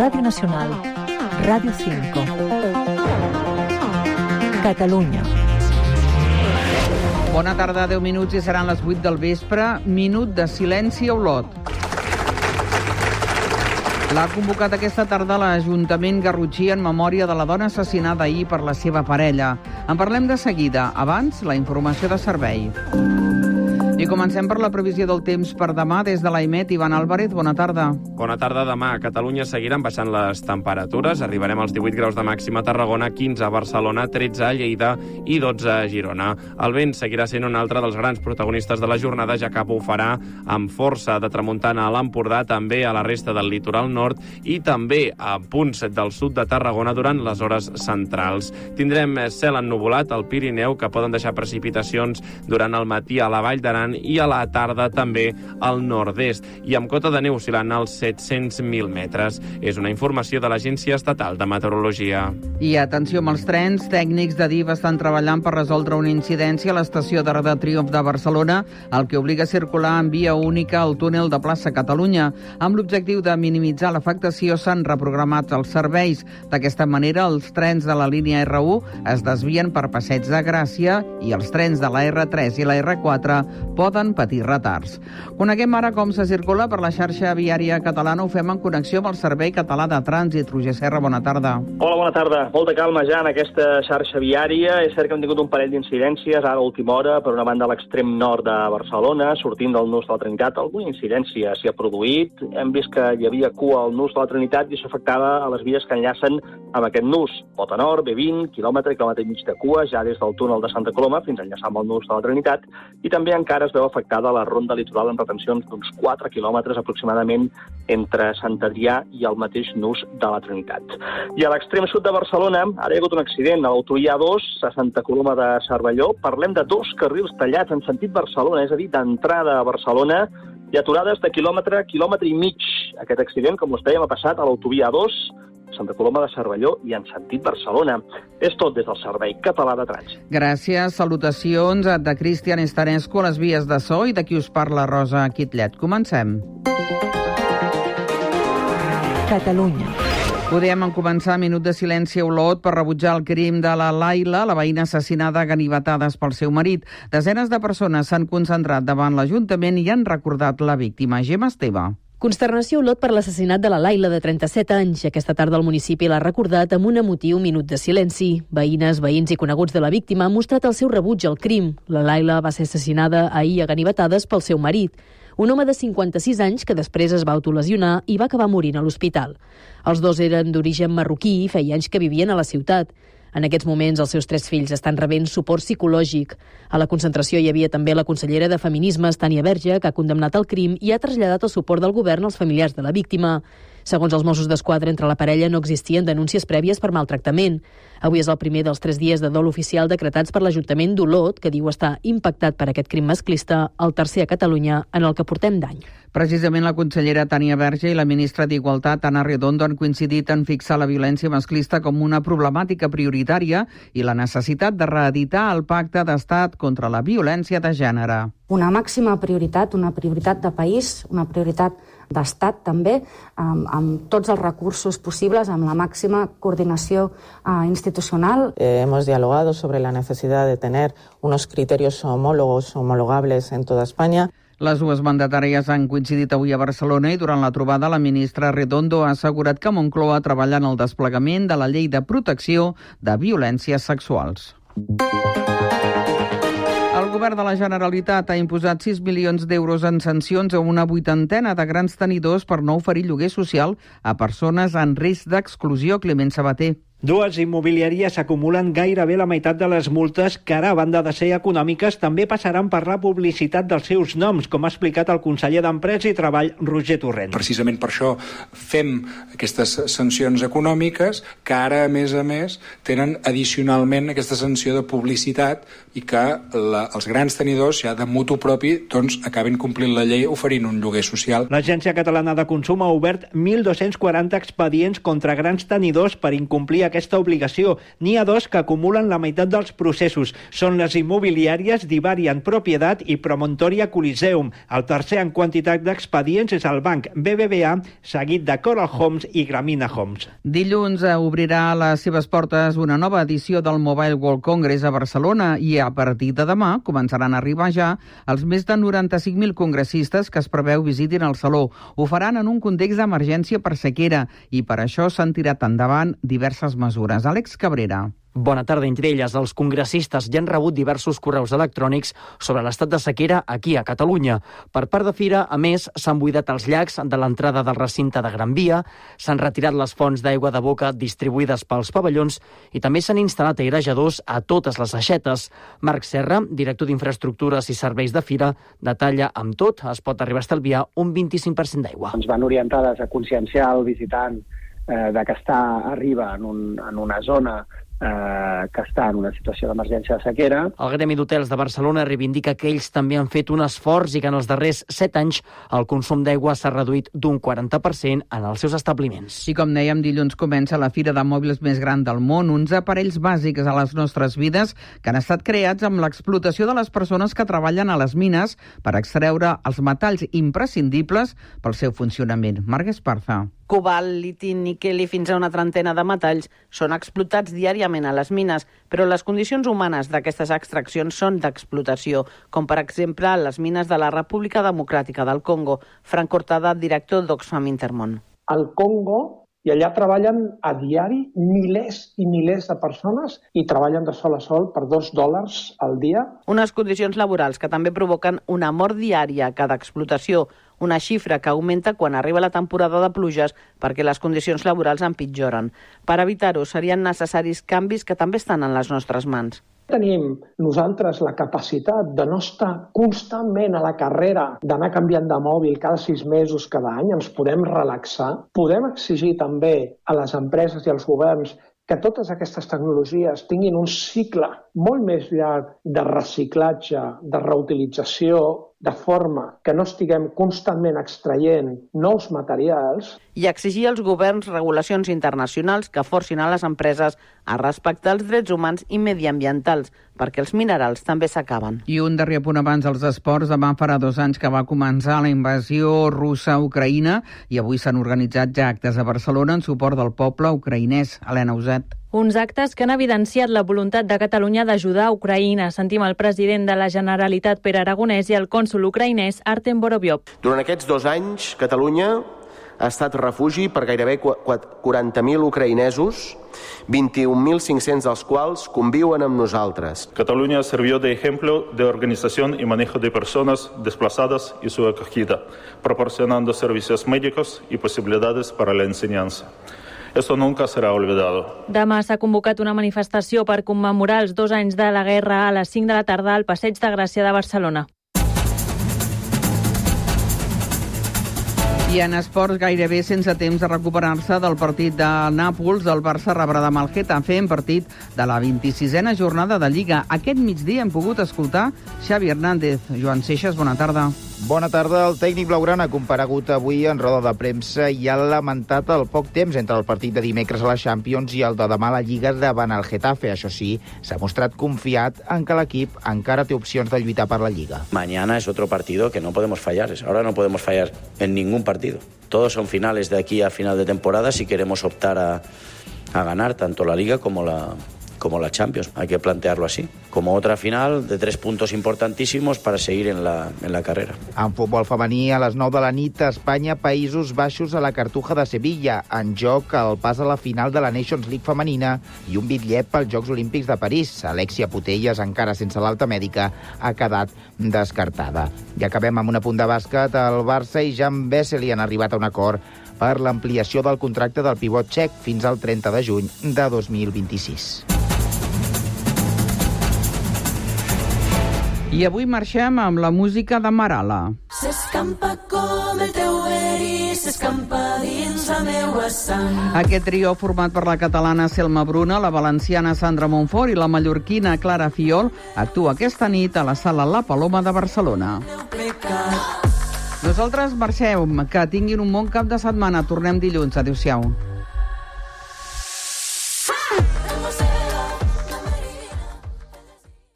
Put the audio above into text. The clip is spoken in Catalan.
Radio Nacional, Radio 5, Catalunya. Bona tarda, 10 minuts i seran les 8 del vespre. Minut de silenci a Olot. L'ha convocat aquesta tarda l'Ajuntament garrotxí en memòria de la dona assassinada ahir per la seva parella. En parlem de seguida. Abans, la informació de servei. I comencem per la previsió del temps per demà des de l'AIMET. Ivan Álvarez, bona tarda. Bona tarda. Demà a Catalunya seguiran baixant les temperatures. Arribarem als 18 graus de màxima a Tarragona, 15 a Barcelona, 13 a Lleida i 12 a Girona. El vent seguirà sent un altre dels grans protagonistes de la jornada, ja que bufarà amb força de tramuntana a l'Empordà, també a la resta del litoral nord i també a punts del sud de Tarragona durant les hores centrals. Tindrem cel ennuvolat al Pirineu, que poden deixar precipitacions durant el matí a la Vall d'Aran i a la tarda també al nord-est, i amb cota de neu oscil·lant als 700.000 metres. És una informació de l'Agència Estatal de Meteorologia. I atenció amb els trens, tècnics de DIF estan treballant per resoldre una incidència a l'estació d'Arc de Triomf de Barcelona, el que obliga a circular en via única al túnel de plaça Catalunya. Amb l'objectiu de minimitzar l'afectació s'han reprogramat els serveis. D'aquesta manera, els trens de la línia R1 es desvien per Passeig de Gràcia i els trens de la R3 i la R4 poden patir retards. Coneguem ara com se circula per la xarxa viària catalana. Ho fem en connexió amb el Servei Català de Trànsit. Roger Serra, bona tarda. Hola, bona tarda. Molta calma ja en aquesta xarxa viària. És cert que hem tingut un parell d'incidències ara a última hora, per una banda a l'extrem nord de Barcelona, sortint del nus de la Trinitat. Alguna incidència s'hi ha produït. Hem vist que hi havia cua al nus de la Trinitat i això afectava a les vies que enllacen amb aquest nus. Pota Nord, B20, quilòmetre i mig de cua, ja des del túnel de Santa Coloma fins a enllaçar amb el nus de la Trinitat. I també encara es veu afectada la ronda litoral amb retencions d'uns 4 quilòmetres aproximadament entre Sant Adrià i el mateix nus de la Trinitat. I a l'extrem sud de Barcelona ara hi ha hagut un accident a l'autovia A2 a Santa Coloma de Cervelló. Parlem de 2 carrils tallats en sentit Barcelona, és a dir, d'entrada a Barcelona, i aturades de quilòmetre i mig. Aquest accident, com us dèiem, ha passat a l'autovia A2 Santa Coloma de Cervelló i en sentit Barcelona. És tot des del Servei Català de Trànsit. Gràcies, salutacions de Cristian Estanescu a les vies de so i de qui us parla Rosa Quitlet. Comencem. Catalunya. Podem començar minut de silenci a Olot per rebutjar el crim de la Laila, la veïna assassinada a ganivetades pel seu marit. Desenes de persones s'han concentrat davant l'Ajuntament i han recordat la víctima. Gemma Esteve. Consternació a Olot per l'assassinat de la Laila, de 37 anys. Aquesta tarda el municipi l'ha recordat amb un emotiu minut de silenci. Veïnes, veïns i coneguts de la víctima han mostrat el seu rebuig al crim. La Laila va ser assassinada ahir a ganivetades pel seu marit, un home de 56 anys que després es va autolesionar i va acabar morint a l'hospital. Els dos eren d'origen marroquí i feia anys que vivien a la ciutat. En aquests moments, els seus 3 fills estan rebent suport psicològic. A la concentració hi havia també la consellera de Feminismes, Tània Verge, que ha condemnat el crim i ha traslladat el suport del govern als familiars de la víctima. Segons els Mossos d'Esquadra, entre la parella no existien denúncies prèvies per maltractament. Avui és el primer dels 3 dies de dol oficial decretats per l'Ajuntament d'Olot, que diu estar impactat per aquest crim masclista, el tercer a Catalunya en el que portem d'any. Precisament la consellera Tània Verge i la ministra d'Igualtat, Ana Redondo, han coincidit en fixar la violència masclista com una problemàtica prioritària i la necessitat de reeditar el Pacte d'Estat contra la violència de gènere. Una màxima prioritat, una prioritat de país, una prioritat d'Estat també, amb tots els recursos possibles, amb la màxima coordinació institucional. Hemos dialogado sobre la necesidad de tener unos criterios homologables en toda España. Les dues mandatàries han coincidit avui a Barcelona i durant la trobada la ministra Redondo ha assegurat que Moncloa treballa en el desplegament de la llei de protecció de violències sexuals. El govern de la Generalitat ha imposat 6 milions d'euros en sancions a una 80ena de grans tenidors per no oferir lloguer social a persones en risc d'exclusió. Climent Sabater. Dues immobiliàries acumulen gairebé la meitat de les multes que ara, a banda de ser econòmiques, també passaran per la publicitat dels seus noms, com ha explicat el conseller d'Empresa i Treball, Roger Torrent. Precisament per això fem aquestes sancions econòmiques que ara, a més, tenen addicionalment aquesta sanció de publicitat i que els grans tenidors, ja de mutu propi, doncs acaben complint la llei oferint un lloguer social. L'Agència Catalana de Consum ha obert 1.240 expedients contra grans tenidors per incomplir d'aquesta obligació. N'hi ha dos que acumulen la meitat dels processos. Són les immobiliàries Divarian Propietat i Promontoria Coliseum. El tercer en quantitat d'expedients és el banc BBVA, seguit de Coral Homes i Gramina Homes. Dilluns obrirà les seves portes una nova edició del Mobile World Congress a Barcelona i a partir de demà començaran a arribar ja els més de 95.000 congressistes que es preveu visitin el saló. Ho faran en un context d'emergència per sequera i per això s'han tirat endavant diverses mesures. Àlex Cabrera. Bona tarda. Entre elles, els congressistes ja han rebut diversos correus electrònics sobre l'estat de sequera aquí a Catalunya. Per part de Fira, a més, s'han buidat els llacs de l'entrada del recinte de Gran Via, s'han retirat les fonts d'aigua de boca distribuïdes pels pavellons i també s'han instal·lat airejadors a totes les aixetes. Marc Serra, director d'Infraestructures i Serveis de Fira, detalla amb tot es pot arribar a estalviar un 25% d'aigua. Ens van orientades a conscienciar el visitant de que arriba en una zona que està en una situació d'emergència de sequera. El Gremi d'Hotels de Barcelona reivindica que ells també han fet un esforç i que en els darrers 7 anys el consum d'aigua s'ha reduït d'un 40% en els seus establiments. I com dèiem, dilluns comença la fira de mòbils més gran del món, uns aparells bàsics a les nostres vides que han estat creats amb l'explotació de les persones que treballen a les mines per extreure els metalls imprescindibles pel seu funcionament. Marc Esparza. Cobalt, liti, níquel i fins a una trentena de metalls són explotats diàriament a les mines, però les condicions humanes d'aquestes extraccions són d'explotació, com per exemple les mines de la República Democràtica del Congo. Frank Cortada, director d'Oxfam Intermón. Al Congo, i allà treballen a diari milers i milers de persones i treballen de sol a sol per $2 al dia. Unes condicions laborals que també provoquen una mort diària a cada explotació, una xifra que augmenta quan arriba la temporada de pluges perquè les condicions laborals empitjoren. Per evitar-ho serien necessaris canvis que també estan en les nostres mans. Tenim nosaltres la capacitat de no estar constantment a la carrera, d'anar canviant de mòbil cada 6 mesos, cada any, ens podem relaxar. Podem exigir també a les empreses i als governs que totes aquestes tecnologies tinguin un cicle molt més llarg de reciclatge, de reutilització, de forma que no estiguem constantment extraient nous materials. I exigir als governs regulacions internacionals que forcin a les empreses a respectar els drets humans i mediambientals, perquè els minerals també s'acaben. I un darrer punt abans dels esports. Demà farà 2 anys que va començar la invasió russa a Ucraïna i avui s'han organitzat ja actes a Barcelona en suport del poble ucraïnès. Helena Uset. Uns actes que han evidenciat la voluntat de Catalunya d'ajudar a Ucraïna. Sentim el president de la Generalitat, Pere Aragonès, i el cònsol ucraïnès, Artem Borovyov. Durant aquests 2 anys, Catalunya ha estat refugi per gairebé 40.000 ucraïnesos, 21.500 dels quals conviuen amb nosaltres. Catalunya sirvió de ejemplo de organización y manejo de personas desplazadas y su acogida, proporcionando servicios médicos y posibilidades para la enseñanza. Esto nunca será olvidado. Demà s'ha convocat una manifestació per commemorar els 2 anys de la guerra a les 5 de la tarda al Passeig de Gràcia de Barcelona. I en esports, gairebé sense temps de recuperar-se del partit de Nàpols, el Barça rebrà demà el Getafe en partit de la 26a jornada de Lliga. Aquest migdia hem pogut escoltar Xavi Hernández. Joan Seixas, bona tarda. Bona tarda. El tècnic blaugrana ha comparegut avui en roda de premsa i ha lamentat el poc temps entre el partit de dimecres a la Champions i el de demà a la Lliga davant el Getafe. Això sí, s'ha mostrat confiat en que l'equip encara té opcions de lluitar per la Lliga. Mañana es otro partido que no podemos fallar. Ahora no podemos fallar en ningún partido. Todos son finales de aquí a final de temporada si queremos optar a ganar tanto la Liga como la Champions. Hay que plantearlo así, como otra final de 3 puntos importantísimos para seguir en la carrera. En futbol femení, a les 9 de la nit, Espanya, Països Baixos a la Cartuja de Sevilla. En joc el pas a la final de la Nations League femenina i un bitllet pels Jocs Olímpics de París. Alexia Putellas, encara sense l'alta mèdica, ha quedat descartada. I acabem amb un apunt de bàsquet. El Barça i Jan Vesely han arribat a un acord per l'ampliació del contracte del pivot txec fins al 30 de juny de 2026. I avui marxem amb la música de Marala. S'escampa com el teu verí, s'escampa dins la meua sang. Aquest trio, format per la catalana Selma Bruna, la valenciana Sandra Montfort i la mallorquina Clara Fiol, actua aquesta nit a la sala La Paloma de Barcelona. Nosaltres marxem. Que tinguin un bon cap de setmana. Tornem dilluns. Adéu-siau.